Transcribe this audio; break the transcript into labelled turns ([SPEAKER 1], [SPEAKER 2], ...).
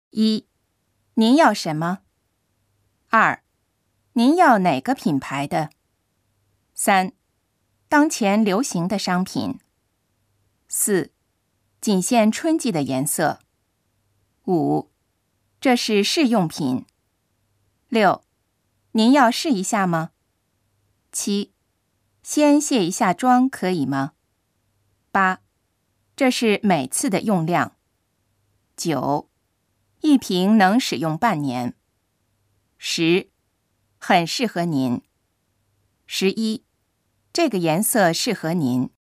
[SPEAKER 1] 1. 您要什么？ 2. 您要哪个品牌的？ 3. 当前流行的商品。 4. 仅限春季的颜色。 5. 这是试用品。 6. 您要试一下吗？ 7. 先卸一下妆可以吗？ 8. 这是每次的用量。 9. 一瓶能使用半年。 10. 很适合您。 11. 这个颜色适合您。